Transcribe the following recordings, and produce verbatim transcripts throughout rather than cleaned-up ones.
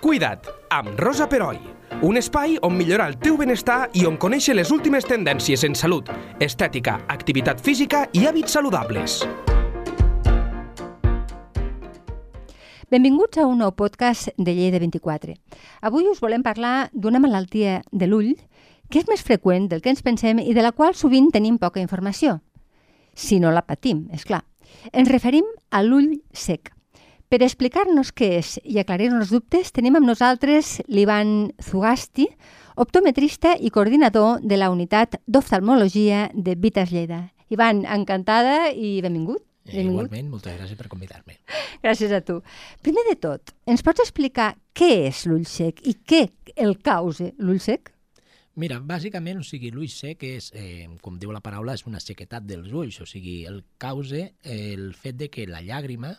Cuida't, amb Rosa Peroi. Un espai on millorar el teu benestar i on conèixer les últimes tendències en salut, estètica, activitat física i hàbits saludables. Benvinguts a un nou podcast de Lleida vint-i-quatre. Avui us volem parlar d'una malaltia de l'ull que és més freqüent del que ens pensem i de la qual sovint tenim poca informació. Si no la patim, és clar. Ens referim a l'ull sec. Per explicar-nos què és i aclarir-nos dubtes, tenim amb nosaltres l'Ivan Zugasti, optometrista i coordinador de la unitat d'oftalmologia de Vitas Lleida. Ivan, encantada i benvingut. Eh, igualment, moltes gràcies per convidar-me. Gràcies a tu. Primer de tot, ens pots explicar què és l'ull sec i què el causa l'ull sec? Mira, bàsicament, o sigui, l'ull sec és, eh, com diu la paraula, és una sequetat dels ulls, o sigui, el causa el fet de que la llàgrima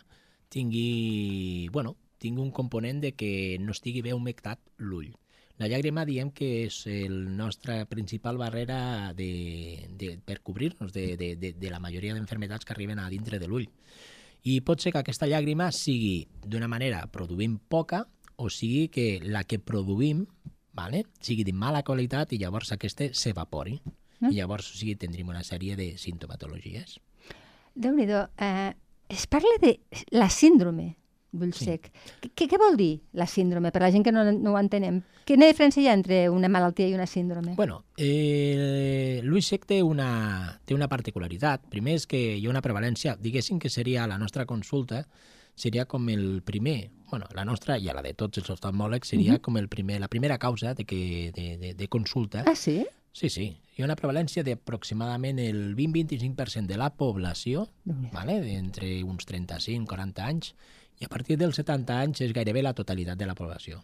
tingui, bueno, tingui un component de que no estigui bé humectat l'ull. La llàgrima diem que és el nostra principal barrera de, de, per cobrir-nos de, de, de, de la majoria d'enfermedats que arriben a dintre de l'ull. I pot ser que aquesta llàgrima sigui d'una manera produint poca o sigui que la que produïm, vale, sigui de mala qualitat i llavors aquesta s'evapori. Mm. I llavors o sigui, tindríem una sèrie de sintomatologies. Déu-n'hi-do, eh, es parla de la síndrome d'ull sec. Sí. Què, què vol dir la síndrome? Per la gent que no, no ho entenem. Quina diferència hi ha entre una malaltia i una síndrome? Bueno, eh, l'ull sec té una, té una particularitat. Primer és que hi ha una prevalència, diguéssim que seria la nostra consulta, seria com el primer, bueno, la nostra i la de tots els oftalmòlegs seria uh-huh. com el primer, la primera causa de, que, de, de, de consulta. Ah, sí? Sí, sí. Hi ha una prevalència d'aproximadament el vint a vint-i-cinc per cent de la població, vale? Entre uns trenta-cinc a quaranta anys, i a partir dels setanta anys és gairebé la totalitat de la població.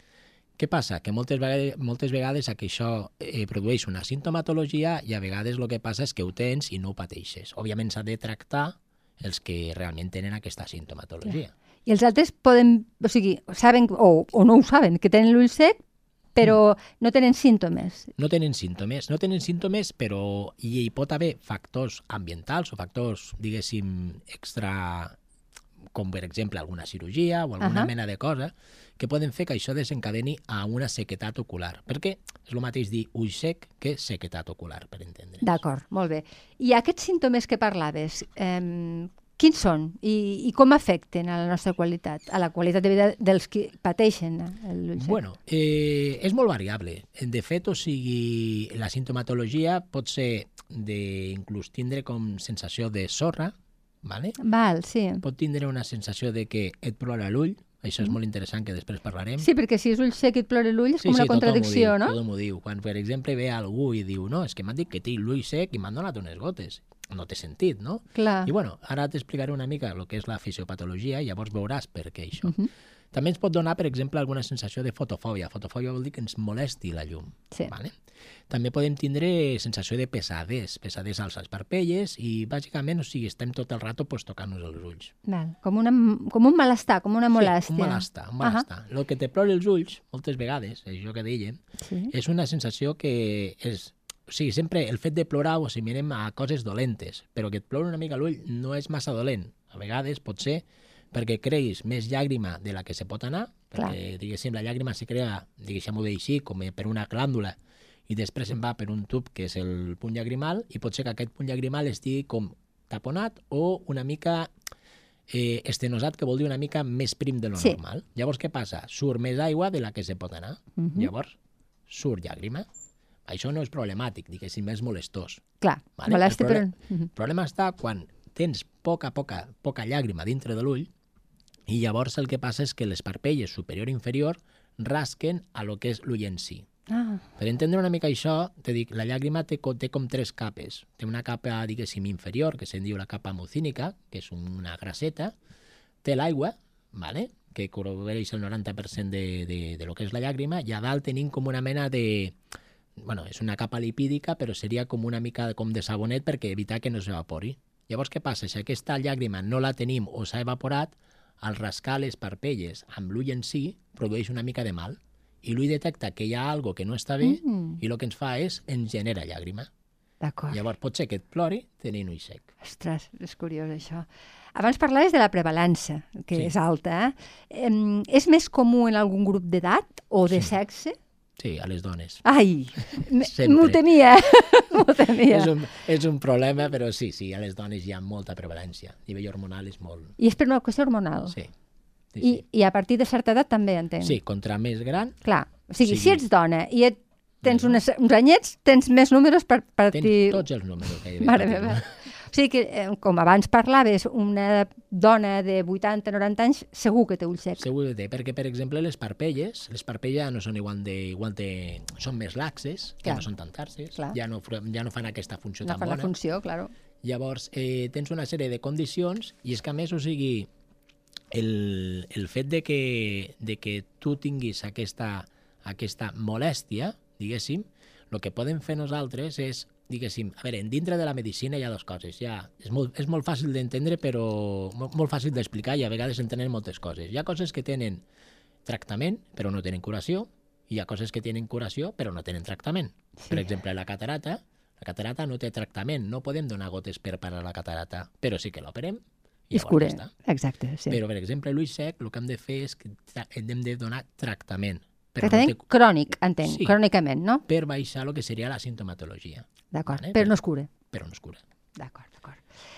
Què passa? Que moltes vegades, moltes vegades això eh, produeix una sintomatologia i a vegades el que passa és que ho tens i no ho pateixes. Òbviament s'ha de tractar els que realment tenen aquesta sintomatologia. Ja. I els altres poden, o sigui, saben o, o no ho saben, que tenen l'ull sec, però no tenen símptomes. No tenen símptomes, no tenen símptomes, però hi, hi pot haver factors ambientals o factors, diguéssim, extra, com per exemple alguna cirurgia o alguna uh-huh. mena de cosa, que poden fer que això desencadeni a una sequetat ocular. Perquè és el mateix dir ull sec que sequetat ocular, per entendre's. D'acord, molt bé. I aquests símptomes que parlaves, eh, quins són i, i com afecten a la nostra qualitat, a la qualitat de vida dels que pateixen l'ull sec? Bueno, eh, és molt variable. De fet, o sigui, la sintomatologia pot ser d'inclús tindre com sensació de sorra, vale? Val, sí. Pot tindre una sensació de que et plora l'ull, això és mm. molt interessant, que després parlarem. Sí, perquè si és ull sec i et plora l'ull és sí, com una sí, contradicció, diu, no? Sí, m'ho diu. Quan, per exemple, ve algú i diu no, és que m'han dit que té l'ull sec i m'han donat unes gotes. No té sentit, no? Clar. I bueno, ara t'explicaré una mica el que és la fisiopatologia i llavors veuràs per què això. Uh -huh. També ens pot donar, per exemple, alguna sensació de fotofòbia. Fotofòbia vol dir que ens molesti la llum. Sí. Vale? També podem tindre sensació de pesadès, pesadès als parpelles i, bàsicament, o sigui, estem tot el rato pues, tocant-nos els ulls. Val. Com, una, com un malestar, com una molèstia. Sí, un malestar, un malestar. Uh -huh. El que te plori els ulls, moltes vegades, això que dèiem, sí. és una sensació que és... O sigui, sempre el fet de plorar ho assimilem a coses dolentes, però que et plori una mica l'ull no és massa dolent. A vegades pot ser perquè creis més llàgrima de la que se pot anar, Clar. perquè, diguéssim, la llàgrima se crea, diguéssim-ho així, com per una glàndula, i després se'n va per un tub, que és el punt llagrimal, i pot ser que aquest punt llagrimal estigui com taponat o una mica eh, estenosat, que vol dir una mica més prim de lo sí. normal. Llavors, què passa? Surt més aigua de la que se pot anar. Uh -huh. Llavors, surt llàgrima. Això no és problemàtic, diguéssim, és molestós. Clar, vale? molesti, el problema, però... El problema està quan tens poca, poca, poca llàgrima dintre de l'ull i llavors el que passa és que les parpelles superior i inferior rasquen a lo que és l'ull en si. Ah. Per entendre una mica això, te dic, la llàgrima té, té com tres capes. Té una capa, diguéssim, inferior, que se'n diu la capa mucínica, que és una grasseta. Té l'aigua, vale? Que cobreix el noranta per cent de, de, de lo que és la llàgrima, i a dalt tenim com una mena de... Bueno, és una capa lipídica, però seria com una mica com de sabonet perquè evitar que no s'evapori. Llavors, què passa? Si aquesta llàgrima no la tenim o s'ha evaporat, al rascar les parpelles amb l'ull en si, produeix una mica de mal. I l'ull detecta que hi ha algo que no està bé mm. i el que ens fa és ens genera llàgrima. D'acord. Llavors pot ser que et plori tenint ull sec. Ostres, és curiós això. Abans parlaves de la prevalença, que Sí. és alta. Eh? Em, és més comú en algun grup d'edat o de Sí. sexe? Sí, a les dones. Ai, m- Sempre. m'ho temia, m'ho temia. És un, és un problema, però sí, sí, a les dones hi ha molta prevalència. A nivell hormonal és molt... I és per una qüestió hormonal? Sí, sí, I, sí. I a partir de certa edat també, entenc? Sí, contra més gran, Clar, o sigui, Sí. si ets dona i et tens Bueno. unes, uns anyets, tens més números per tens partir... tots els números que hi ha. Mare meva. O sigui que, eh, com abans parlaves, una dona de vuitanta noranta anys segur que té ulls secs. Segur que té, perquè, per exemple, les parpelles, les parpelles ja no són igual de... Igual de són més laxes, ja Clar. no són tan tarses, Clar. ja no, fr- ja no fan aquesta funció No tan fa la bona. funció, claro. Llavors, eh, tens una sèrie de condicions i és que, a més, o sigui, el, el fet de que, de que tu tinguis aquesta, aquesta molèstia, diguéssim, el que podem fer nosaltres és, diguéssim, a veure, dintre de la medicina hi ha dues coses. Hi ha, és, molt, és molt fàcil d'entendre, però molt, molt fàcil d'explicar i a vegades entenen moltes coses. Hi ha coses que tenen tractament, però no tenen curació, i hi ha coses que tenen curació, però no tenen tractament. Sí. Per exemple, la catarata, la catarata no té tractament, no podem donar gotes per parar la catarata, però sí que l'operem i I es llavors cura. ja està. Exacte, sí. Però, per exemple, l'ull sec, el que hem de fer és que tra- hem de donar tractament. Però Tractament no té, crònic, entenc, Sí. crònicament, no? per baixar el que seria la sintomatologia, D'acord, Vale, però però- no es cura. però no es cura. D'acord, d'acord.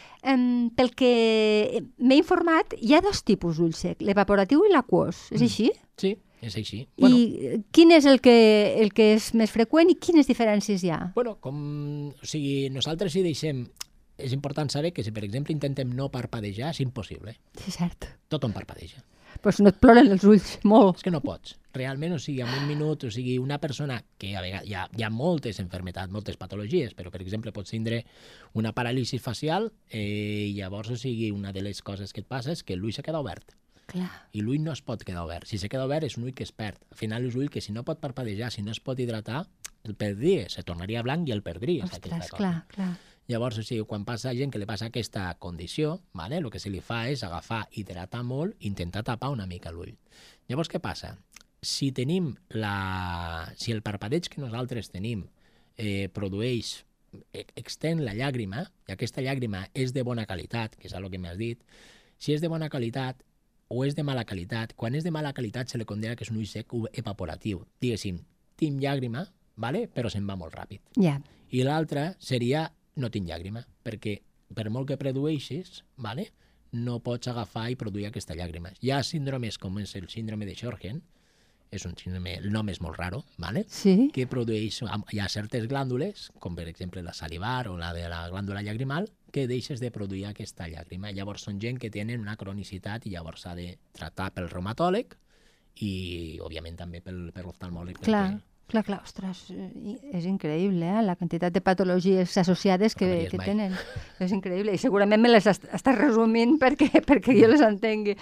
Um, pel que m'he informat, hi ha dos tipus d'ull sec, l'evaporatiu i l'aquós, és Mm. així? Sí, és així. I eh, quin és el que, el que és més freqüent i quines diferències hi ha? Bueno, com... O sigui, nosaltres si deixem... És important saber que si, per exemple, intentem no parpadejar, és impossible. Sí, cert. Tothom parpadeja. Però si no et ploren els ulls, molt. És que no pots. Realment, o sigui, en un minut, o sigui, una persona que a vegades hi ha, hi ha moltes enfermetats, moltes patologies, però, per exemple, pots tindre una paràlisi facial eh, i llavors, o sigui, una de les coses que et passa és que l'ull se queda obert. Clar. I l'ull no es pot quedar obert. Si se queda obert és un ull que es perd. Al final és un ull que si no pot parpadejar, si no es pot hidratar, el perdria, se tornaria blanc i el perdries. Ostres, aquesta cosa. clar, clar. Llavors, o sigui, quan passa a gent que li passa aquesta condició, vale, el que se li fa és agafar, hidratar molt, intentar tapar una mica l'ull. Llavors, què passa? Si tenim la... Si el parpadeig que nosaltres tenim eh, produeix, e- extén la llàgrima, i aquesta llàgrima és de bona qualitat, que és el que m'has dit, si és de bona qualitat o és de mala qualitat, quan és de mala qualitat se li condena que és un ull sec evaporatiu. Diguéssim, tinc llàgrima, vale, però se'n va molt ràpid. Ja. I l'altre seria no tinc llàgrima, perquè per molt que produeixis, vale, no pots agafar i produir aquesta llàgrima. Hi ha síndromes com és el síndrome de Sjögren, és un síndrome, el nom és molt raro, vale? Sí? Que produeix, hi ha certes glàndules, com per exemple la salivar o la de la glàndula llagrimal, que deixes de produir aquesta llàgrima. Llavors són gent que tenen una cronicitat i llavors s'ha de tractar pel reumatòleg i, òbviament, també pel, per l'oftalmòleg. Clar. perquè Clar, clar, ostres, eh, és increïble, eh? La quantitat de patologies associades que, acabaries que mai. tenen. És increïble, i segurament me les est estàs resumint perquè, perquè jo les entengui.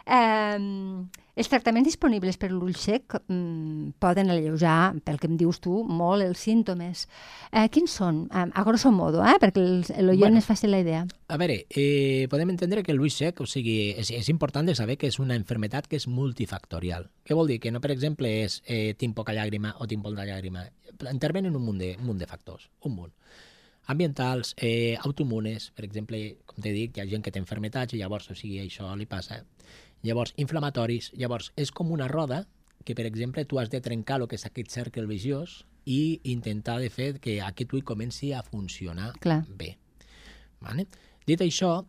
Um, els tractaments disponibles per l'ull sec um, poden alleujar, pel que em dius tu, molt els símptomes. Uh, quins són? Um, a grosso modo, eh? Perquè l'oient Bueno. es faci la idea. A veure, eh, podem entendre que l'ull sec, o sigui, és, és important de saber que és una enfermetat que és multifactorial. Què vol dir? Que no, per exemple, és eh, tinc poca llàgrima o tinc molta llàgrima. Intervenen un munt de, un munt de factors, un munt. Ambientals, eh, autoimmunes, per exemple, com t'he dit, hi ha gent que té enfermetats i llavors, o sigui, això li passa. Llavors, inflamatoris, llavors, és com una roda que, per exemple, tu has de trencar el que és aquest cercle viciós i intentar de fer que aquest ull comenci a funcionar Clar. bé. Vale? Dit això,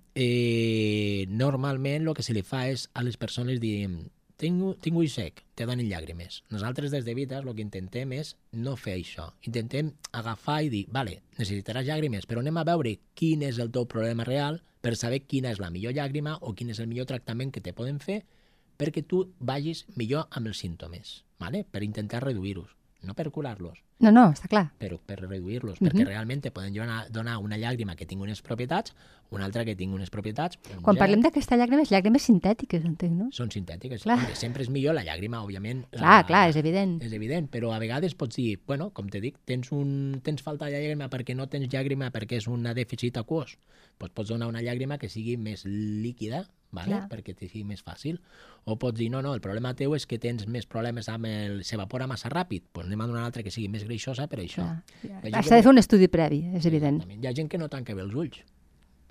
eh, normalment el que se li fa és a les persones dir tinc, tinc ull sec, te donen llàgrimes. Nosaltres des de Vitas el que intentem és no fer això. Intentem agafar i dir, vale, necessitaràs llàgrimes, però anem a veure quin és el teu problema real per saber quina és la millor llàgrima o quin és el millor tractament que te poden fer perquè tu vagis millor amb els símptomes, vale? Per intentar reduir-los, no per curar-los, No, no, està clar. però per reduir-los, Mhm. perquè realment te poden donar, donar una llàgrima que tingui unes propietats, una altra que tingui unes propietats. un Quan gel, parlem d'aquesta llàgrima, és llàgrimes sintètiques, entenc, no? Són sintètiques. Clar. Hombre, sempre és millor la llàgrima, òbviament. Clar, la, clar, és evident. És evident, però a vegades pots dir, bueno, com te dic, tens, un, tens falta de llàgrima perquè no tens llàgrima perquè és un dèficit aquós. Pues pots donar una llàgrima que sigui més líquida, vale? Clar. Perquè te sigui més fàcil. O pots dir, no, no, el problema teu és que tens més problemes amb el... s'evapora massa ràpid, pues anem a donar una altra que sigui més greixosa per això. Clar. Hi ha gent S'ha que- de fer un estudi previ, és evident. Exactament. Hi ha gent que no tanca bé els ulls.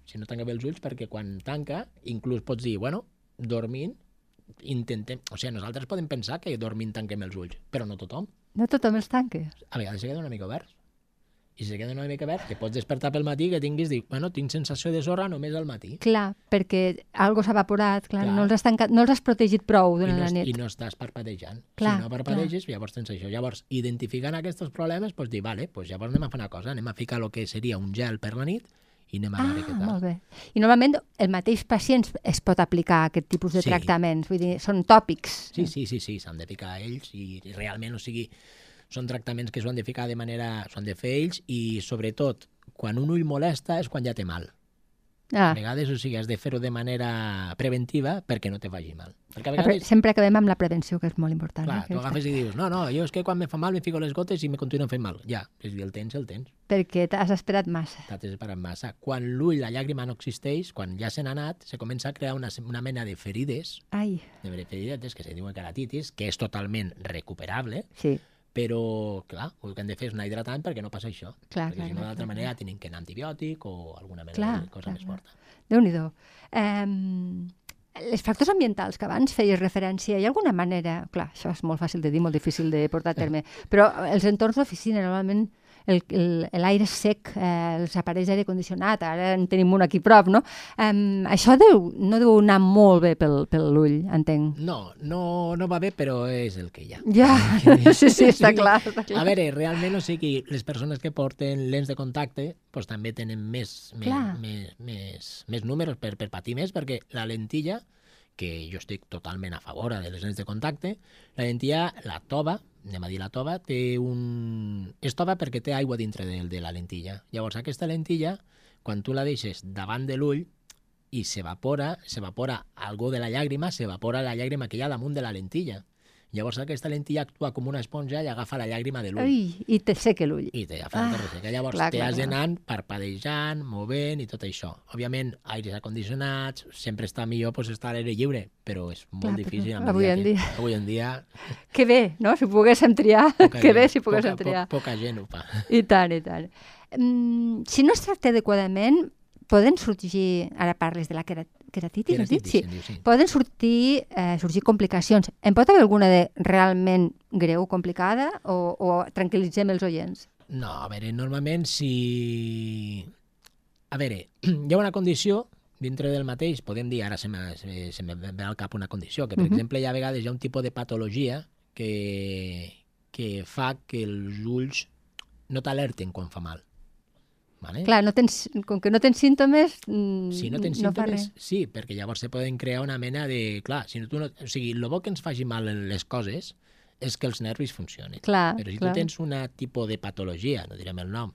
si no tanca bé els ulls, perquè quan tanca, inclús pots dir, bueno, dormint, intentem... O sigui, nosaltres podem pensar que dormint tanquem els ulls, però no tothom. No tothom els tanca. A vegades se queda una mica oberts. I si se queda una mica obert, que pots despertar pel matí que tinguis, dir, bueno, tinc sensació de sorra només al matí. Clar, perquè algo s'ha evaporat, clar, Clar. no els has tancat, no els has protegit prou I durant no, la nit. I no estàs parpadejant. Clar, si no parpadeges, llavors tens això. Llavors, identificant aquests problemes, pots dir, vale, pues llavors anem a fer una cosa, anem a ficar el que seria un gel per la nit i anem a Ah, veure què tal. molt bé. I normalment el mateix pacient es pot aplicar aquest tipus de Sí. tractaments, vull dir, són tòpics. Sí, sí, sí, sí, s'han de ficar ells i realment, o sigui, són tractaments que s'han de ficar de manera... s'han de fer ells i, sobretot, quan un ull molesta és quan ja té mal. Ah, A vegades, o sigui, has de fer-ho de manera preventiva perquè no te faci mal. Perquè a la pre- vegades, sempre acabem amb la prevenció, que és molt important. clar, eh, tu aquesta. agafes i dius, no, no, jo és que quan me fa mal me fico les gotes i me continuen fent mal. Ja, és dir, el tens, el tens. Perquè t'has esperat massa. T'has esperat massa. Quan l'ull, la llàgrima no existeix, quan ja se n'ha anat, se comença a crear una, una mena de ferides, Ai, de ferides que se diuen keratitis, que és totalment recuperable, sí, però, clar, el que hem de fer és anar hidratant perquè no passa això. Clar, perquè clar, si no, clar, d'altra clar, manera, tenen que anar antibiòtic o alguna mena Clar, de cosa clar, més clar. forta. Déu-n'hi-do. Um, els factors ambientals que abans feies referència, hi ha alguna manera... Clar, això és molt fàcil de dir, molt difícil de portar a terme, però els entorns d'oficina, normalment el- el- l'aire sec, eh, els aparells d'aire condicionat, ara en tenim un aquí a prop, no? Um, això deu, no deu anar molt bé pel, pel ull, entenc. No, no, no va bé, però és el que hi ha. Ja, sí, sí, està clar, està clar. A veure, realment, o sigui, les persones que porten lents de contacte pues, també tenen més, més, Clar. més, més, més números per, per patir més, perquè la lentilla, que jo estic totalment a favor de les lents de contacte, la lentilla, la tova, anem a dir la tova, té un... és tova perquè té aigua dintre de, de la lentilla. Llavors, aquesta lentilla, quan tu la deixes davant de l'ull i s'evapora, s'evapora algú de la llàgrima, s'evapora la llàgrima que hi ha damunt de la lentilla. Llavors aquesta lentilla actua com una esponja i agafa la llàgrima de l'ull. Ai, i te seca l'ull. I te agafa Ah, ah, resseca. Llavors clar, te clar, has clar. d'anar parpadejant, movent i tot això. Òbviament, aires acondicionats, sempre està millor pues, estar a l'aire lliure, però és molt Clar, però difícil. a avui mesura en que- dia. Avui en dia... Que bé, no? Si poguéssim triar, poca que bé gent- si poguéssim poca, triar. po- Poca gent ho fa. I tant, i tant. Mm, si no es tracta adequadament, poden sorgir, ara parles de la quera- queratitis, has dit? Queratitis, Sí. se'n diu, sí. Poden sortir, eh, sorgir complicacions. En pot haver alguna de realment greu, complicada, o, o tranquil·litzem els oients? No, a veure, normalment si... A veure, hi ha una condició dintre del mateix, podem dir, ara se me, se, se me ve al cap una condició, que per Mhm. exemple hi ha a vegades hi ha un tipus de patologia que, que fa que els ulls no t'alerten quan fa mal. Vale? Clar, no tens, com que no tens símptomes, mm, Si no tens no fa símptomes, res. sí, perquè llavors se poden crear una mena de... Clar, si no, tu no, o sigui, el bo que ens faci mal en les coses és que els nervis funcionin. Clar, Però si clar. tu tens un tipus de patologia, no direm el nom,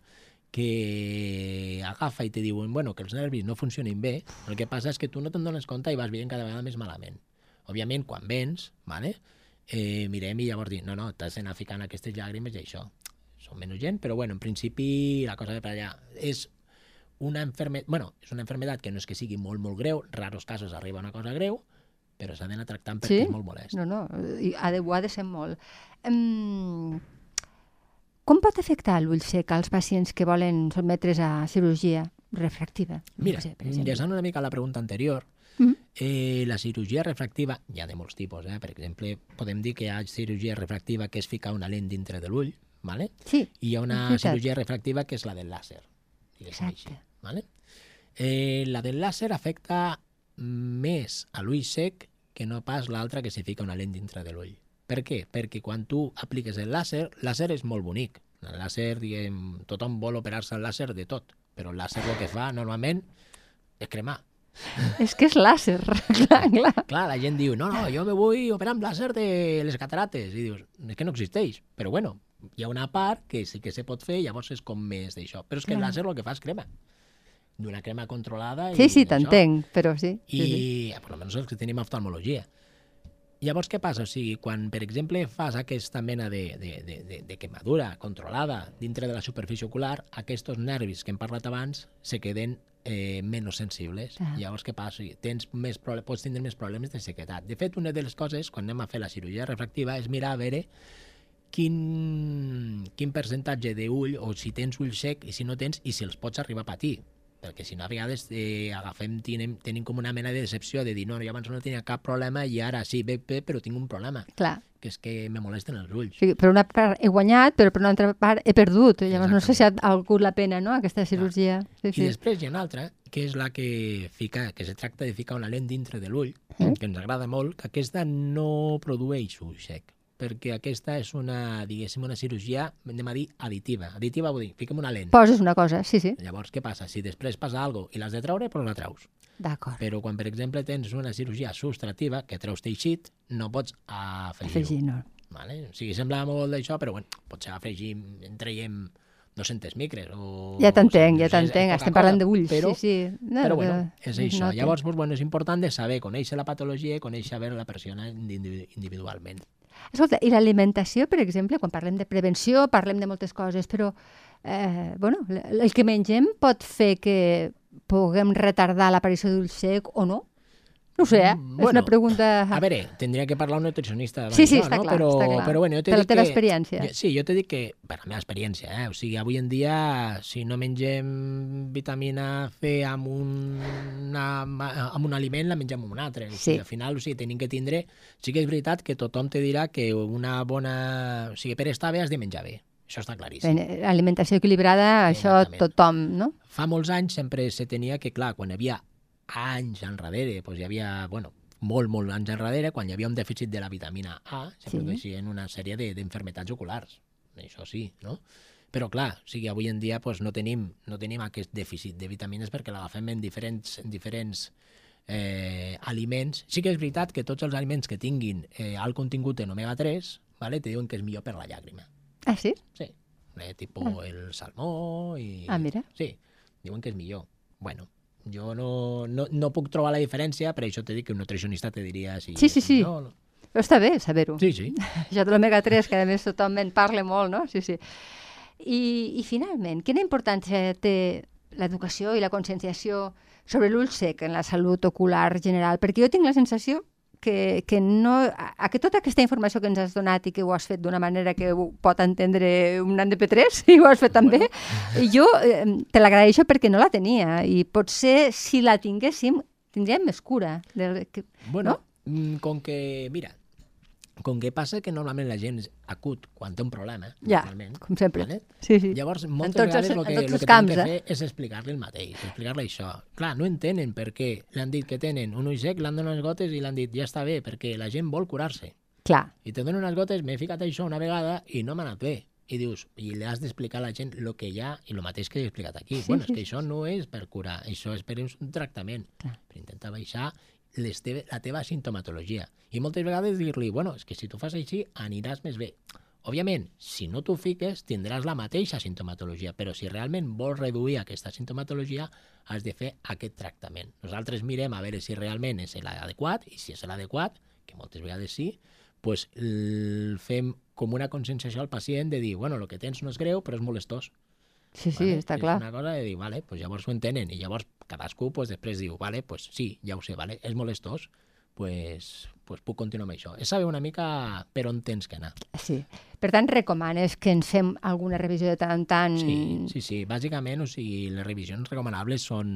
que agafa i te diuen bueno, que els nervis no funcionin bé, el que passa és que tu no te'n dones compte i vas veient cada vegada més malament. Òbviament, quan vens, vale, eh, mirem i llavors dir, no, no, t'has d'anar ficant aquestes llàgrimes i això. Són menys gent, però bueno, en principi la cosa ve per allà. És una enfermedad, bueno, és una enfermedad que no és que sigui molt, molt greu, raros casos arriba una cosa greu, però s'ha d'anar tractant perquè Sí? és molt molest. No, no, i ha de, ho ha de ser molt. Um, com pot afectar l'ull sec als pacients que volen sotmetre's a cirurgia refractiva? Mira, No sé, per exemple. enllaçant una mica a la pregunta anterior, Mhm. eh, la cirurgia refractiva, hi ha de molts tipus, eh? Per exemple, podem dir que hi ha cirurgia refractiva que és ficar una lent dintre de l'ull, ¿vale? Sí, I hi ha una és veritat. cirurgia refractiva que és la del làser. diguéssim Exacte. així, ¿vale? Eh, la del làser afecta més a l'ull sec que no pas l'altra que se fica una lent dintre de l'ull. Per què? Perquè quan tu apliques el làser, el làser és molt bonic. El làser, diguem, tothom vol operar-se el làser de tot, però el làser el que fa normalment és cremar. És que és làser, clar, clar. Clar, la gent diu, no, no, jo me vull operar amb làser de les catarates. I dius, és que no existeix. Però bueno, hi ha una part que sí que se pot fer, llavors és com més d'això. Però és que el Clar. làser el que fa és crema. D'una crema controlada. Sí, i sí, això. t'entenc, però sí. I, sí, sí. per almenys els que tenim oftalmologia. Llavors, què passa? O sigui, quan, per exemple, fas aquesta mena de, de, de, de, de quemadura controlada dintre de la superfície ocular, aquests nervis que hem parlat abans se queden eh, menys sensibles. Clar. Llavors, què passa? O sigui, tens més prole- pots tindre més problemes de sequedat. De fet, una de les coses, quan anem a fer la cirurgia refractiva, és mirar a veure quin, quin percentatge d'ull, o si tens ull sec i si no tens, i si els pots arribar a patir. perquè si no a vegades eh, agafem, tenim, tenim com una mena de decepció de dir no, jo abans no tenia cap problema i ara sí, bé, bé, però tinc un problema. Clar. Que és que me molesten els ulls. Sí, per una part he guanyat, però per una altra part he perdut. Llavors no sé si ha valgut la pena, no?, aquesta cirurgia. Sí, sí. I després hi ha una altra, que és la que fica, que se tracta de ficar una lent dintre de l'ull, mm. que ens agrada molt, que aquesta no produeix ull sec, perquè aquesta és una, diguéssim, una cirurgia, anem a dir, additiva. Additiva vol dir, fiquem una lent. Poses una cosa, sí, sí. Llavors, què passa? Si després passa alguna cosa i l'has de treure, però la treus. D'acord. Però quan, per exemple, tens una cirurgia subtrativa, que treus teixit, no pots afegir-ho. Afegir, no. Vale? O sigui, sembla molt d'això, però bueno, potser afegim, en traiem dos-centes micres. O, ja t'entenc, o ja t'entenc. Estem parlant d'ulls, però, sí, sí. No, però bueno, és això. No Llavors, pues, bueno, és important de saber, conèixer la patologia i conèixer veure la persona individualment. Escolta, i l'alimentació, per exemple, quan parlem de prevenció, parlem de moltes coses, però eh, bueno, el que mengem pot fer que puguem retardar l'aparició d'ull sec o no? No sé, eh? Mm, és bueno, una pregunta... A veure, tindria que parlar un nutricionista. Sí, sí, això, està no? clar, però, està clar. Però, bueno, jo per la teva que, experiència. Sí, jo t'he dit que, per la meva experiència, eh? O sigui, avui en dia, si no mengem vitamina C amb un, una, amb un aliment, la mengem amb un altre. O sigui, Sí. al final, o sigui, tenim que tindre... Sí que és veritat que tothom te dirà que una bona... O sigui, per estar bé has de menjar bé. Això està claríssim. Ben, alimentació equilibrada, això Exactament. tothom, no? Fa molts anys sempre se tenia que, clar, quan hi havia anys enrere, doncs hi havia, bueno, molt, molt anys enrere, quan hi havia un dèficit de la vitamina A, se Sí. produeixien una sèrie d'enfermetats oculars. Això sí, no? Però, clar, o sigui, avui en dia doncs, no, tenim, no tenim aquest dèficit de vitamines perquè l'agafem en diferents, en diferents eh, aliments. Sí que és veritat que tots els aliments que tinguin eh, alt contingut en omega tres, vale, te diuen que és millor per la llàgrima. Ah, sí? Sí, eh, tipo ah. el salmó i... Ah, mira. Sí, diuen que és millor. Bueno, jo no, no, no puc trobar la diferència, per això t'he dit que un nutricionista te diria si... Sí, sí, sí. No, no. Però està bé saber-ho. Sí, sí. Això de l'omega tres, que a més tothom en parla molt, no? Sí, sí. I, i finalment, quina importància té l'educació i la conscienciació sobre l'ull sec en la salut ocular general? Perquè jo tinc la sensació que, que, no, a, que tota aquesta informació que ens has donat i que ho has fet d'una manera que ho pot entendre un nan de P tres, i ho has fet també, bueno. jo eh, te l'agraeixo perquè no la tenia, i potser si la tinguéssim tindríem més cura. Del, que, bueno, no? com que, mira, com que passa que normalment la gent és acut quan té un problema, ja, com sempre. Vale? Sí, sí. Llavors, moltes vegades el que, el que camps, tenen que eh? fer és explicar-li el mateix, explicar-li això. Clar, no entenen per què li han dit que tenen un ull sec, l'han donat unes gotes i l'han dit ja està bé, perquè la gent vol curar-se. Clar. I te donen unes gotes, m'he ficat això una vegada i no m'ha anat bé. I dius, i li has d'explicar a la gent el que hi ha i el mateix que he explicat aquí. Sí, bueno, sí, és que això no és per curar, això és per un tractament, Clar. per intentar baixar les teve, la teva sintomatologia. I moltes vegades dir-li, bueno, és que si tu fas així aniràs més bé. Òbviament, si no t'ho fiques, tindràs la mateixa sintomatologia, però si realment vols reduir aquesta sintomatologia, has de fer aquest tractament. Nosaltres mirem a veure si realment és l'adequat, i si és l'adequat, que moltes vegades sí, doncs fem com una conscienciació al pacient de dir, bueno, el que tens no és greu, però és molestós. Sí, sí, vale? està clar. És una cosa de dir, vale, pues llavors ho entenen, i llavors cadascú pues, després diu, vale, pues sí, ja ho sé, vale, és molestós, pues, pues puc continuar amb això. És saber una mica per on tens que anar. Sí. Per tant, recomanes que ens fem alguna revisió de tant en tant? Sí, sí, sí. Bàsicament, o sigui, les revisions recomanables són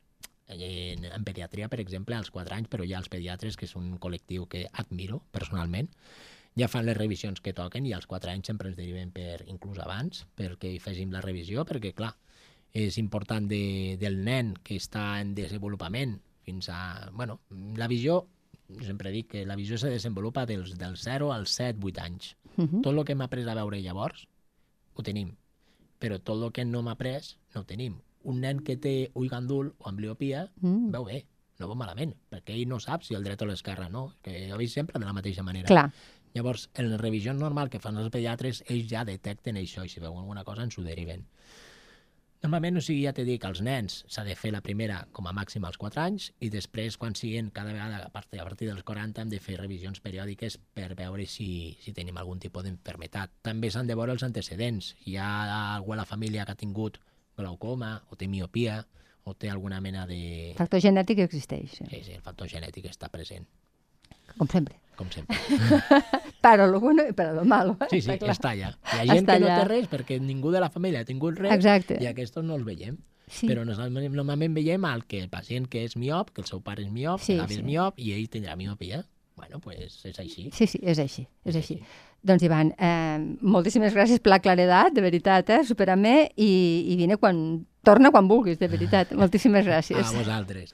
en, en pediatria, per exemple, als quatre anys, però ja els pediatres, que és un col·lectiu que admiro personalment, ja fan les revisions que toquen i als quatre anys sempre ens deriven per, inclús abans, perquè hi féssim la revisió, perquè, clar, és important de, del nen que està en desenvolupament fins a... Bueno, la visió, sempre dic que la visió se desenvolupa dels, dels zero als set vuit anys. Uh -huh. Tot el que hem après a veure llavors, ho tenim, però tot el que no hem après, no ho tenim. Un nen que té ull gandul o ambliopia, mm. veu bé, no veu malament, perquè ell no sap si el dret o l'esquerra no, que jo veig sempre de la mateixa manera. Clar. Llavors, en la revisió normal que fan els pediatres, ells ja detecten això i si veuen alguna cosa ens ho deriven. Normalment, o sigui, ja t'he dit que els nens s'ha de fer la primera com a màxim als quatre anys i després, quan siguin cada vegada a partir, a partir dels quaranta, hem de fer revisions periòdiques per veure si, si tenim algun tipus d'enfermetat. També s'han de veure els antecedents. Hi ha algú a la família que ha tingut glaucoma o té miopia o té alguna mena de... El factor genètic existeix. Sí, sí, sí, el factor genètic està present. Com sempre. Com sempre. Para lo bueno i para lo malo. Eh? Sí, sí, està, està allà. Hi ha gent està que no allà. té res perquè ningú de la família ha tingut res. Exacte. I aquests no els veiem. Sí. Però nosaltres normalment veiem el que el pacient que és miop, que el seu pare és miop, Sí, que l'avi sí. és miop, i ell tindrà miopia. Bueno, pues és així. Sí, sí, és així, és, És així. així. Doncs, Ivan, eh, moltíssimes gràcies per la claredat, de veritat, eh? Superame, i, i vine quan... Torna quan vulguis, de veritat. Moltíssimes gràcies. A vosaltres.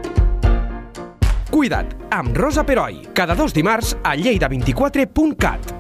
Cuida't, amb Rosa Peroi, cada dos dimarts a lleida vint quatre punt cat.